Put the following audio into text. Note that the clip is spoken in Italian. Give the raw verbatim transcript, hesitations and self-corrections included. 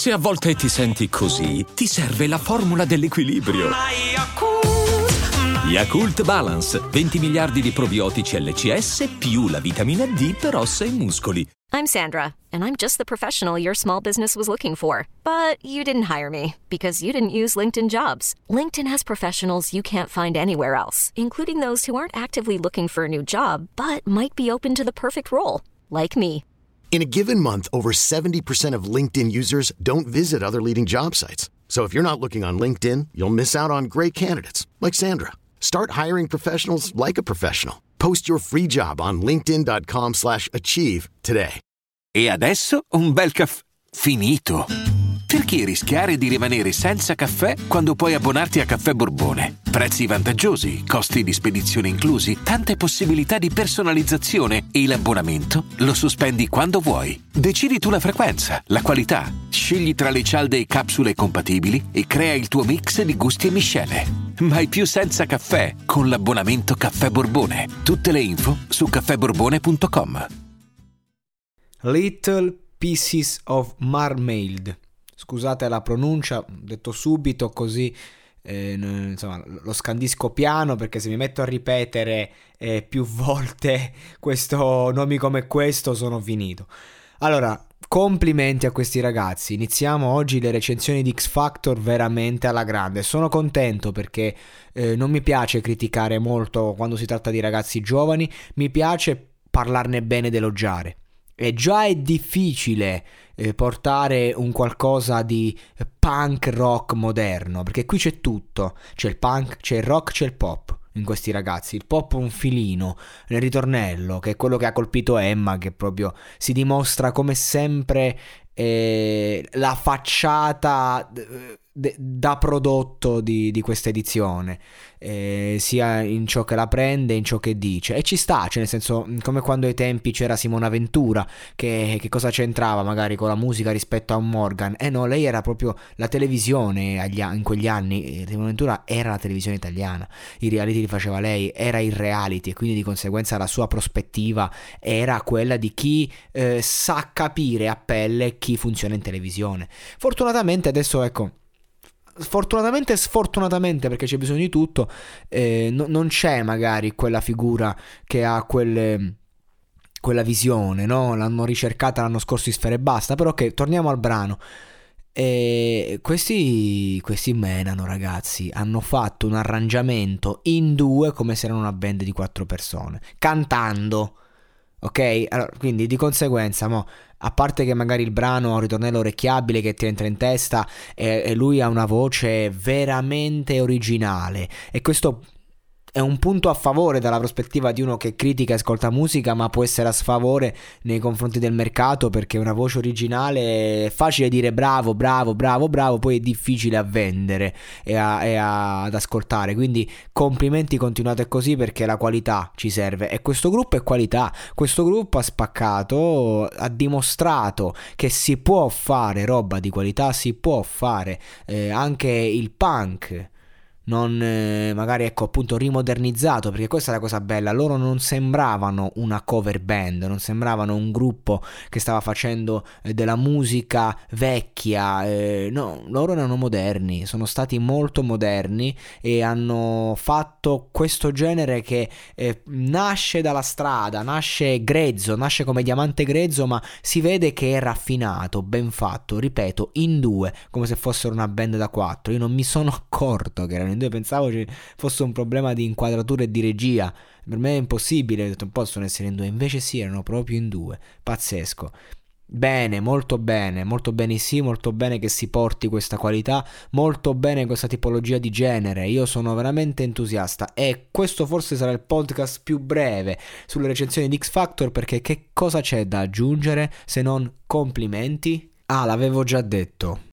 Se a volte ti senti così, ti serve la formula dell'equilibrio. Yakult Balance, venti miliardi di probiotici L C S più la vitamina D per ossa e muscoli. I'm Sandra, and I'm just the professional your small business was looking for. But you didn't hire me because you didn't use LinkedIn Jobs. LinkedIn has professionals you can't find anywhere else, including those who aren't actively looking for a new job, but might be open to the perfect role, like me. In a given month, over seventy percent of LinkedIn users don't visit other leading job sites. So if you're not looking on LinkedIn, you'll miss out on great candidates like Sandra. Start hiring professionals like a professional. Post your free job on linkedin.com slash achieve today. E adesso un bel caffè finito. Perché rischiare di rimanere senza caffè quando puoi abbonarti a Caffè Borbone? Prezzi vantaggiosi, costi di spedizione inclusi, tante possibilità di personalizzazione e l'abbonamento lo sospendi quando vuoi. Decidi tu la frequenza, la qualità, scegli tra le cialde e capsule compatibili e crea il tuo mix di gusti e miscele. Mai più senza caffè con l'abbonamento Caffè Borbone. Tutte le info su caffè borbone punto com. Little Pieces of Marmalade. Scusate la pronuncia, detto subito così eh, insomma lo scandisco piano, perché se mi metto a ripetere eh, più volte questo nomi come questo sono finito. Allora, complimenti a questi ragazzi. Iniziamo oggi le recensioni di X Factor veramente alla grande. Sono contento perché eh, non mi piace criticare molto quando si tratta di ragazzi giovani, mi piace parlarne bene ed elogiare. E già è difficile eh, portare un qualcosa di punk rock moderno, perché qui c'è tutto, c'è il punk, c'è il rock, c'è il pop in questi ragazzi. Il pop un filino nel ritornello, che è quello che ha colpito Emma, che proprio si dimostra come sempre eh, la facciata d- da prodotto di, di questa edizione, eh, sia in ciò che la prende, in ciò che dice, e ci sta, cioè nel senso, come quando ai tempi c'era Simona Ventura, che, che cosa c'entrava magari con la musica rispetto a un Morgan? Eh no, lei era proprio la televisione agli, in quegli anni. Simona Ventura era la televisione italiana, i reality li faceva lei, era il reality, e quindi di conseguenza la sua prospettiva era quella di chi eh, sa capire a pelle chi funziona in televisione. Fortunatamente adesso, ecco, fortunatamente e sfortunatamente, perché c'è bisogno di tutto, eh, no, non c'è magari quella figura che ha quelle, quella visione, no? L'hanno ricercata l'anno scorso in Sfera Ebbasta. Però ok, torniamo al brano. E questi, questi menano, ragazzi, hanno fatto un arrangiamento in due come se erano una band di quattro persone, cantando. Ok? Allora, quindi di conseguenza, mo, a parte che magari il brano ha un ritornello orecchiabile che ti entra in testa, e, e lui ha una voce veramente originale, e questo è un punto a favore dalla prospettiva di uno che critica e ascolta musica, ma può essere a sfavore nei confronti del mercato, perché una voce originale è facile dire bravo, bravo, bravo, bravo, poi è difficile a vendere e, a, e a, ad ascoltare. Quindi complimenti, continuate così, perché la qualità ci serve, e questo gruppo è qualità. Questo gruppo ha spaccato, ha dimostrato che si può fare roba di qualità, si può fare eh, anche il punk, non eh, magari ecco appunto rimodernizzato, perché questa è la cosa bella. Loro non sembravano una cover band, non sembravano un gruppo che stava facendo eh, della musica vecchia, eh, no, loro erano moderni, sono stati molto moderni e hanno fatto questo genere che eh, nasce dalla strada, nasce grezzo, nasce come diamante grezzo, ma si vede che è raffinato, ben fatto, ripeto, in due, come se fossero una band da quattro. Io non mi sono accorto che erano in due, pensavo ci fosse un problema di inquadratura e di regia. Per me è impossibile, ho detto non possono essere in due, invece sì, erano proprio in due. Pazzesco. Bene, molto bene, molto bene, sì, molto bene che si porti questa qualità, molto bene questa tipologia di genere. Io sono veramente entusiasta, e questo forse sarà il podcast più breve sulle recensioni di X Factor, perché che cosa c'è da aggiungere se non complimenti? Ah, l'avevo già detto.